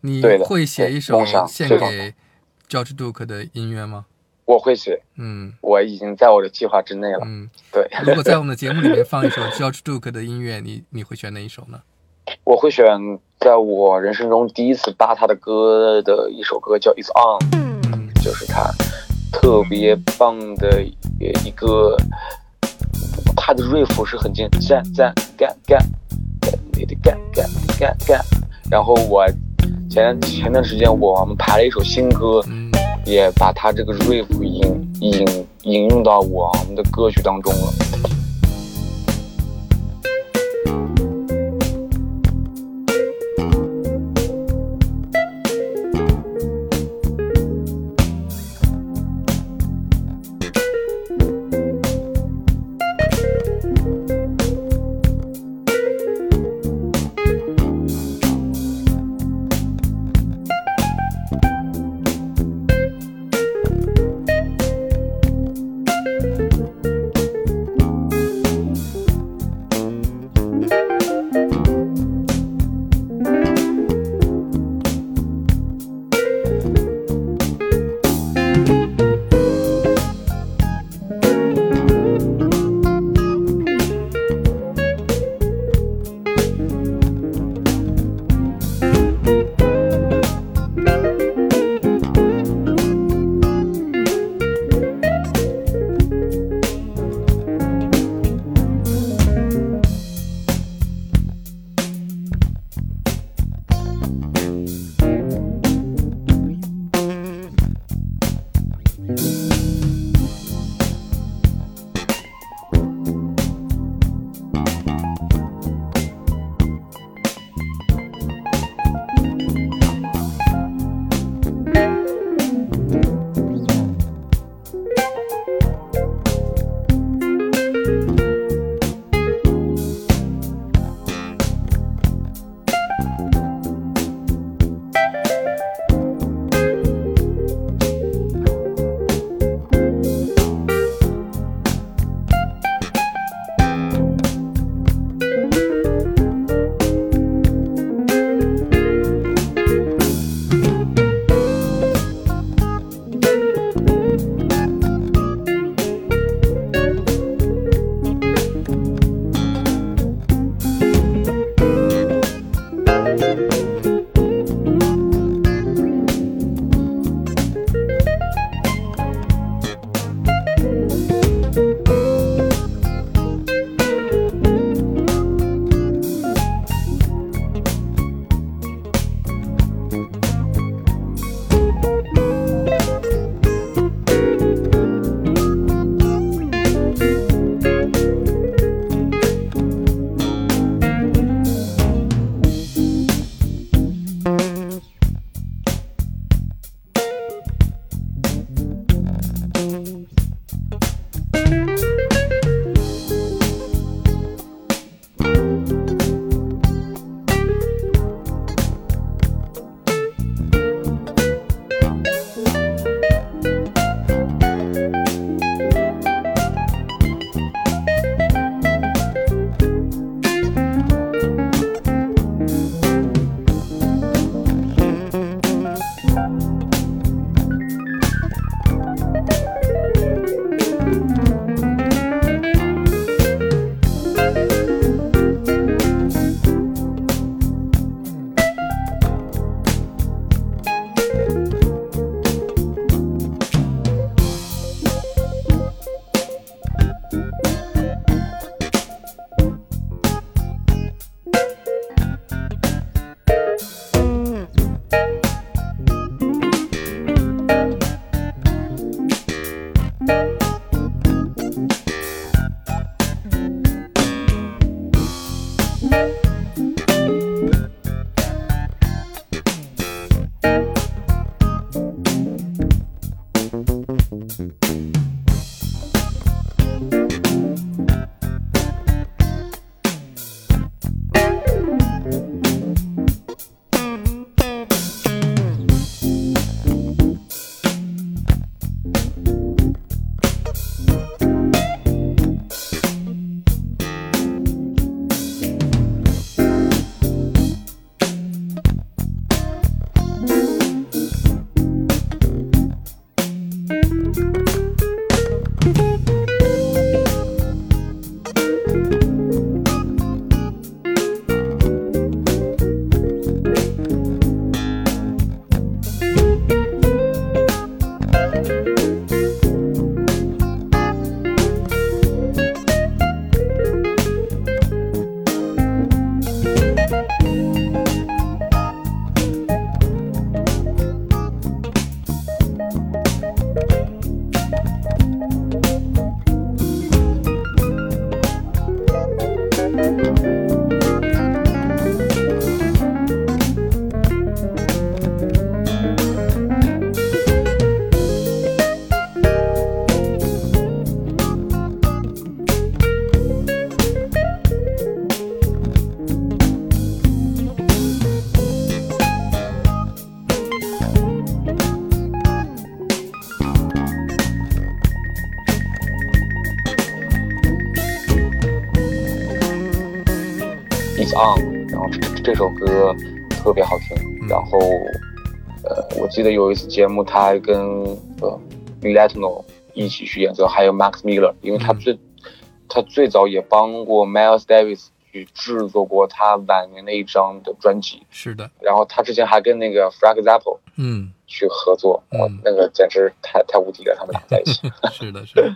你对的， 会写一首梦想献给 George Duke 的音乐吗？ 我会写，我已经在我的计划之内了。对。 如果在我们的节目里面放一首 George Duke 的音乐，你会选哪一首呢？ 我会选在我人生中第一次扒他的歌的一首歌，叫《It's On》，就是他特别棒的一个，他的瑞服是很简单，干，你的干。然后我前段时间我们排了一首新歌，也把他这个瑞服引用到我们的歌曲当中了。 On， 然后这首歌特别好听。然后我记得有一次节目，他还跟Latino 一起去演奏，还有 Max Miller， 因为他最早也帮过 Miles Davis 去制作过他晚年的一张的专辑。 是的。 然后他之前还跟那个 Frank Zappa 去合作，那个简直太无敌了，他们俩在一起。 是的，是的。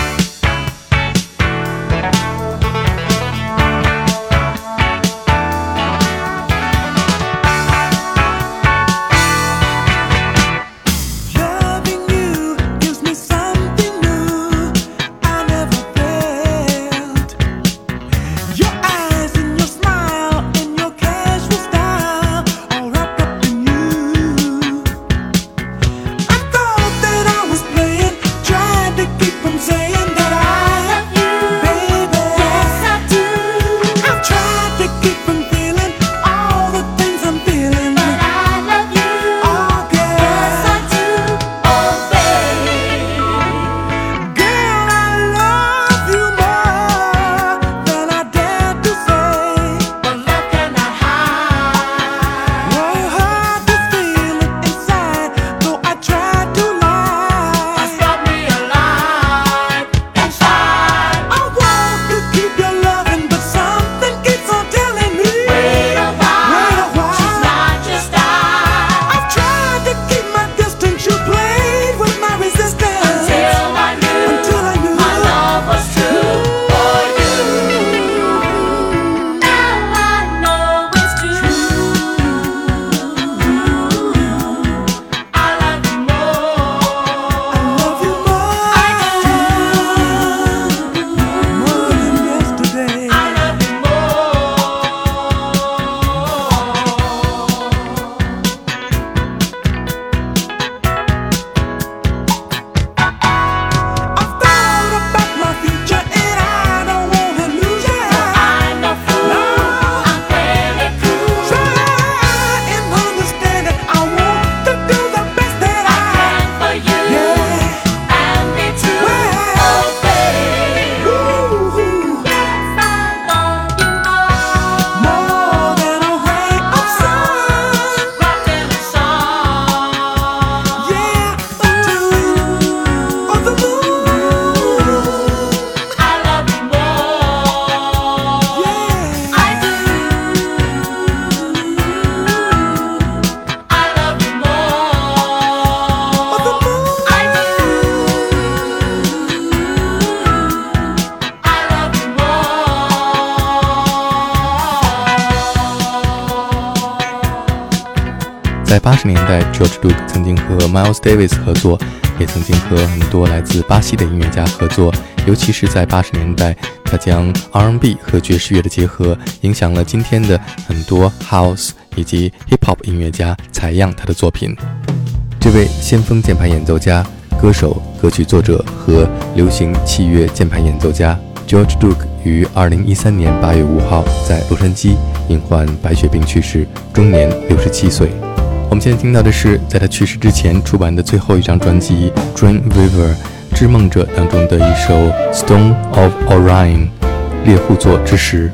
在80年代 George Duke 曾经和 Miles Davis 合作，也曾经和很多来自巴西的音乐家合作，尤其是在80年代，他将 R&B 和爵士乐的结合，影响了今天的很多 House 以及 Hip Hop 音乐家采样他的作品。这位先锋键盘演奏家、歌手、歌曲作者和流行器乐键盘演奏家 George Duke 于2013年8月5号在洛杉矶因患白血病去世，终年67岁。我们现在听到的是在他去世之前出版的最后一张专辑 Dreamweaver 织梦者当中的一首 Stone of Orion 猎户座之石。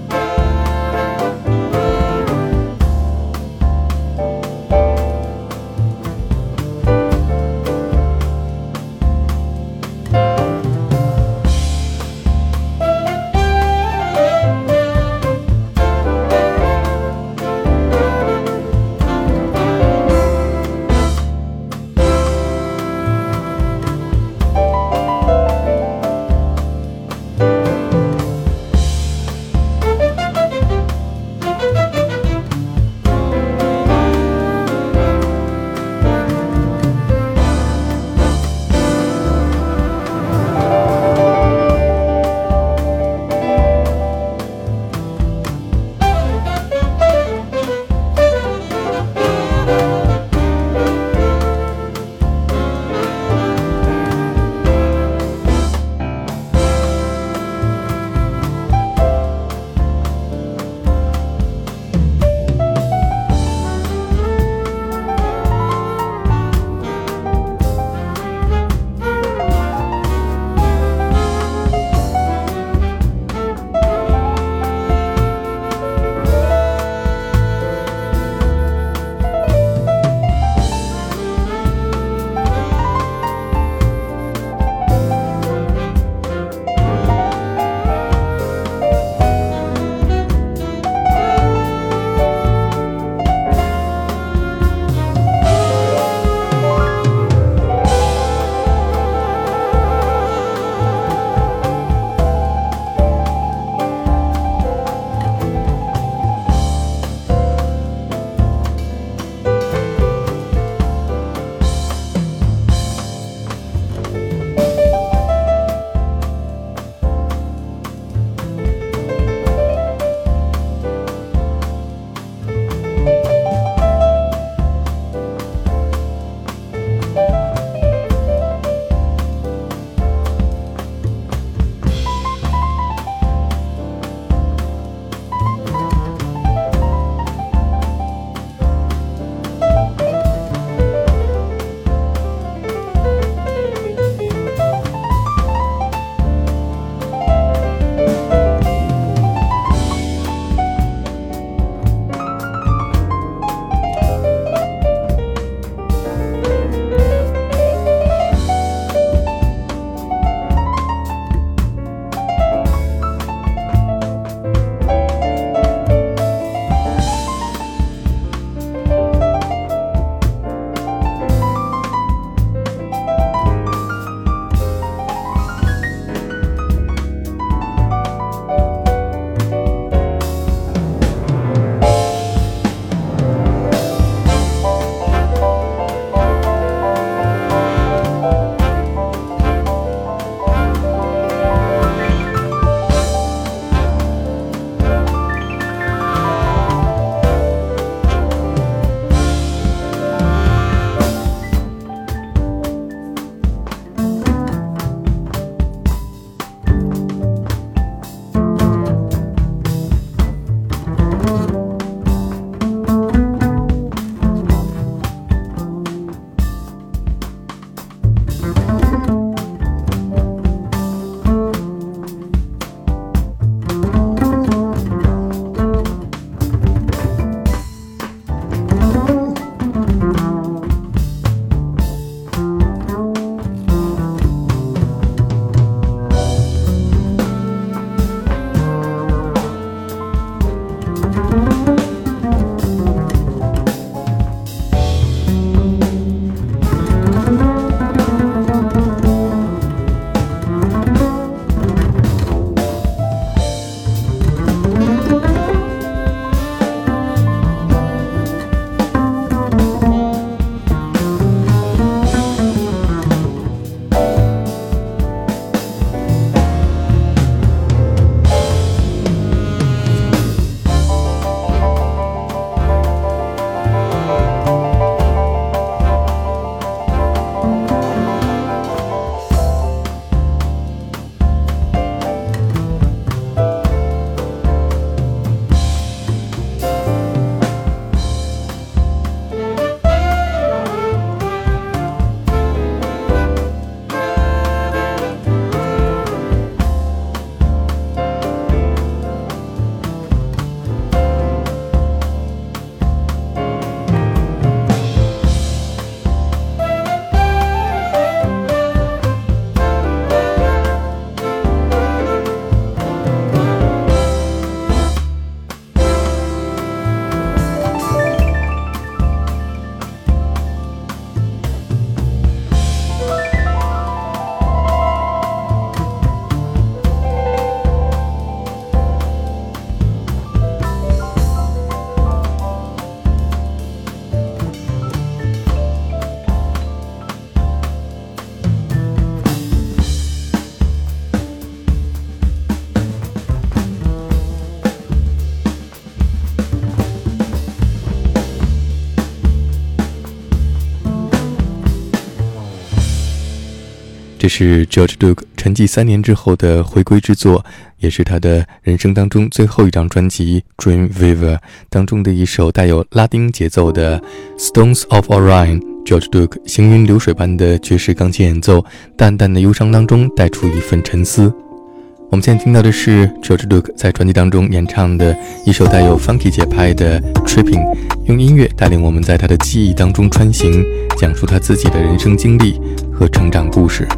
这是 George Duke 沉寂3年之后的回归之作，也是他的人生当中最后一张专辑 Dreamweaver 当中的一首带有拉丁节奏的 Stones of Orion。George Duke 行云流水般的爵士钢琴演奏，淡淡的忧伤当中带出一份沉思。我们现在听到的是 George Duke 在专辑当中演唱的一首带有 funky 节拍的 Tripping， 用音乐带领我们在他的记忆当中穿行，讲述他自己的人生经历和成长故事。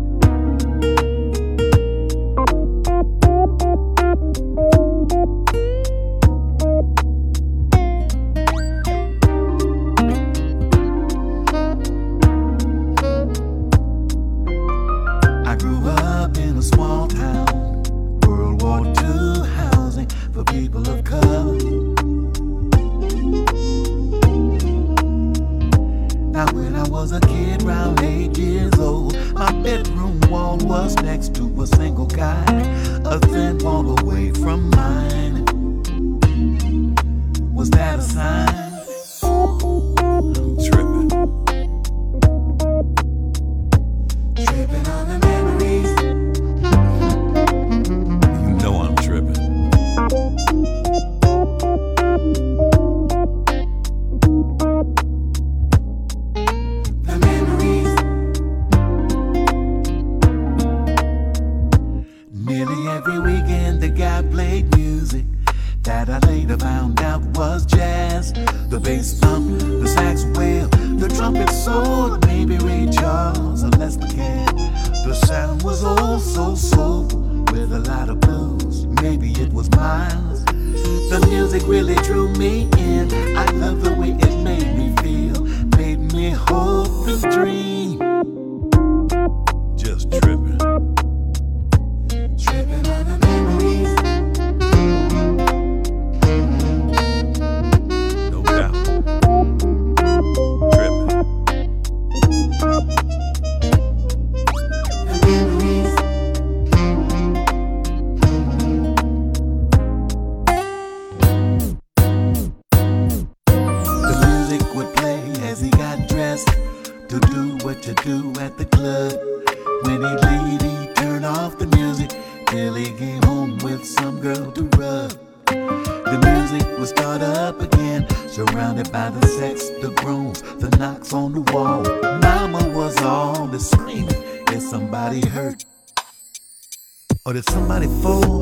Surrounded by the sex, the groans, the knocks on the wall. Mama was all the screaming. Is somebody hurt? Or did somebody fall?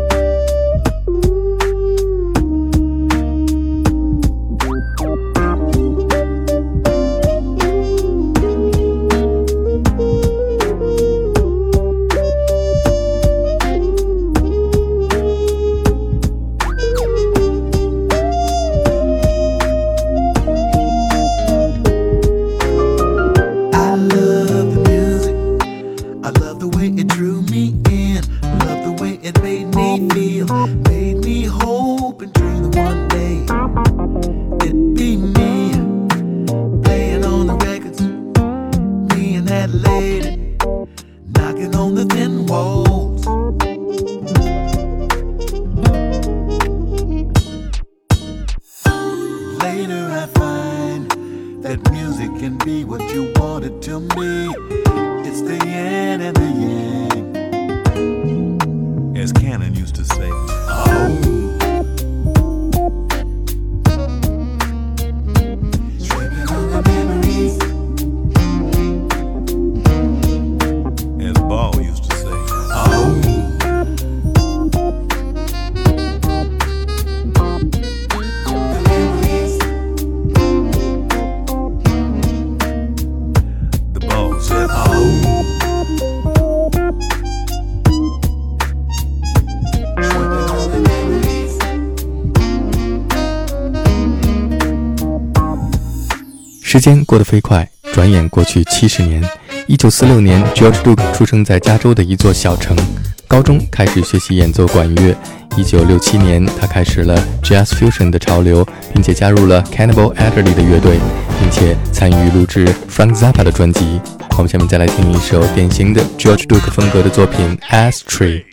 时间过得飞快，转眼过去70年。1946年 ，George Duke 出生在加州的一座小城，高中开始学习演奏管乐。1967年，他开始了 Jazz Fusion 的潮流，并且加入了 Cannibal Adderley 的乐队，并且参与录制 Frank Zappa 的专辑。我们下面再来听一首典型的 George Duke 风格的作品 Ashtray。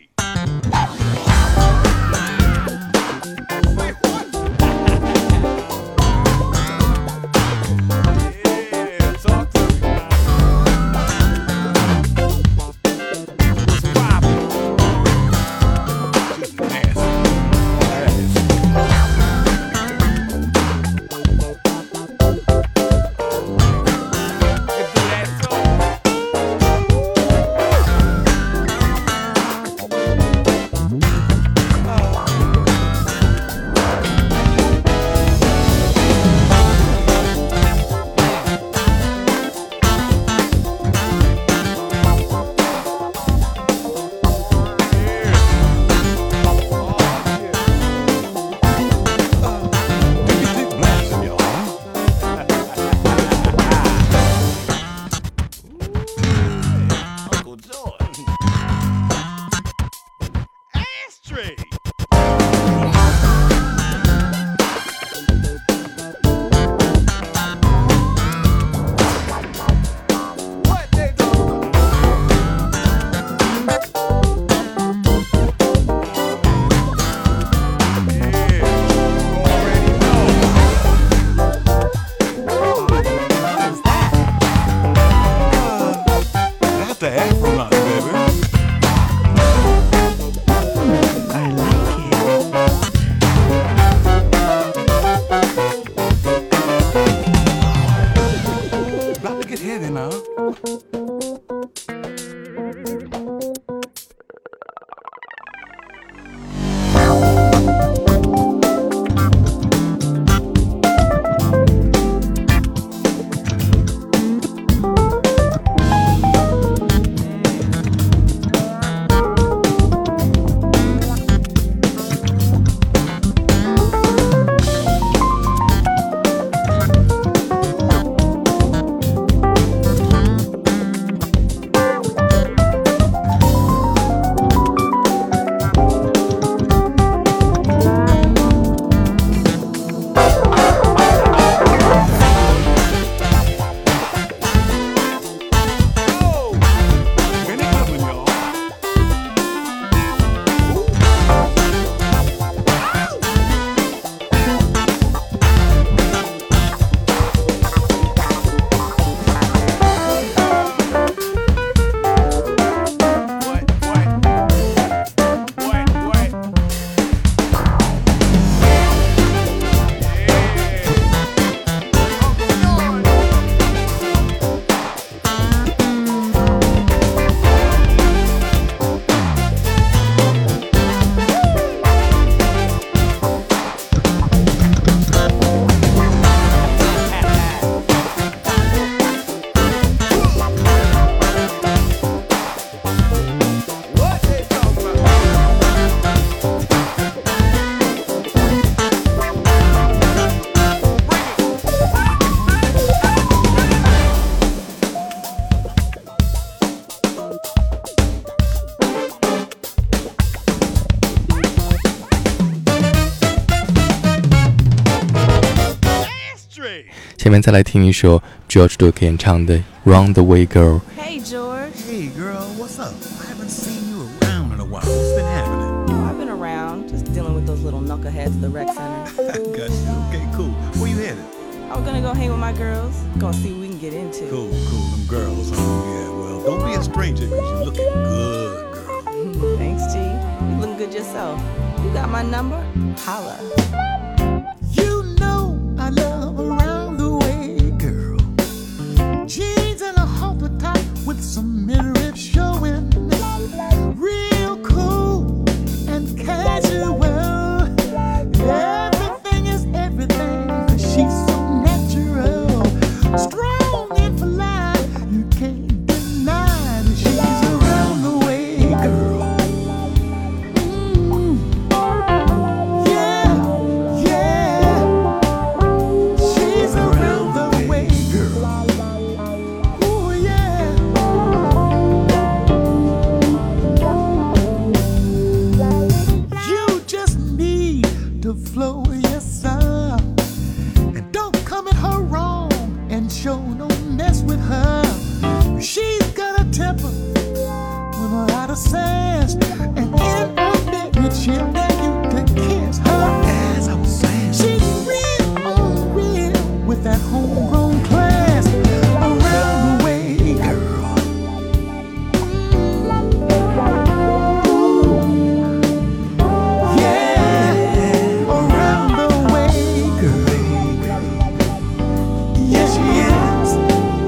再来听一首 George Duke 演唱的 Round the Way Girl。 Hey, George. Hey, girl, what's up? I haven't seen you around in a while. What's been happening? Oh, I've been around, just dealing with those little knuckleheads at the rec center. I got you. Okay, cool. Where you headed? I'm gonna go hang with my girls. Gonna see what we can get into. Cool, them girls, huh? Yeah, well, don't be a stranger, because you're looking good, girl. Thanks, G. You looking good yourself. You got my number? Holla. You know I love around the way, girl. Jeans and a halter top with some midriff showing. Real cool and casual. Everything is everything, 'cause she's so natural. Strong and polite, you can't deny that she's around the way, girl. Yeah, yeah. She's around the way, girl. Ooh, yeah. You just need to flow your song, and don't come at her wrong, and show no mess with her. She's got a temper with a lot of sass, and in a minute she'll dare you to kiss her ass. I was saying, she's real on real with that homegrown class. Around the way, girl. Yeah, around the way, girl. Yes, she is.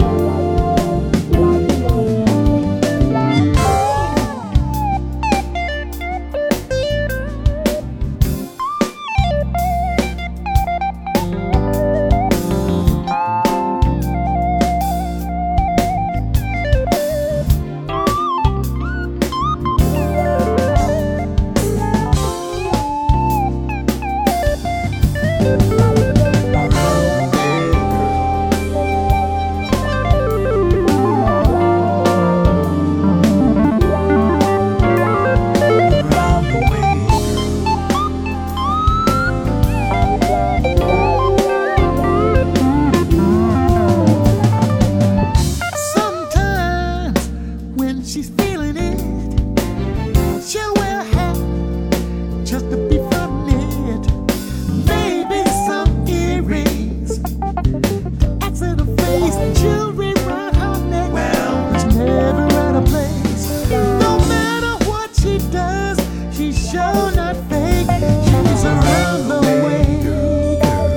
Sometimes when she's feeling it, she'll wear a hat just to be funny. Maybe some earrings, accent her face, jewelry around her neck. Well, it's never out of place. No matter what she does, she's sure not fake. She's around the way, girl.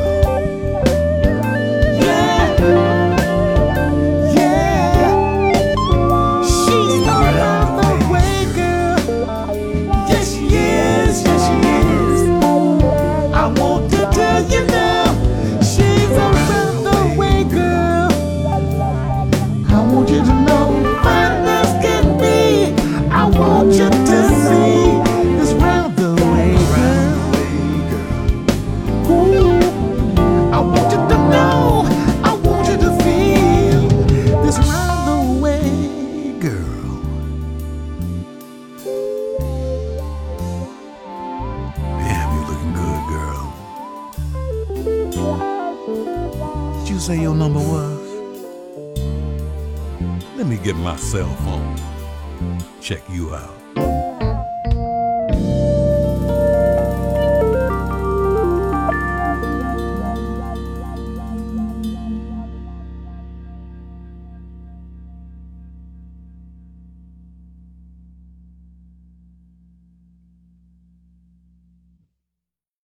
Yeah. Yeah, she's around the way, girl. Yes, she is, yes, she is. I want to tell you now, she's around the way, girl. I want you to know, fine as can be. I want you to see this round the way, girl. Ooh, I want you to know, I want you to feel this round the way, girl. Damn, you looking good, girl. Did you say your number was? Let me get my cell phone. Check you out.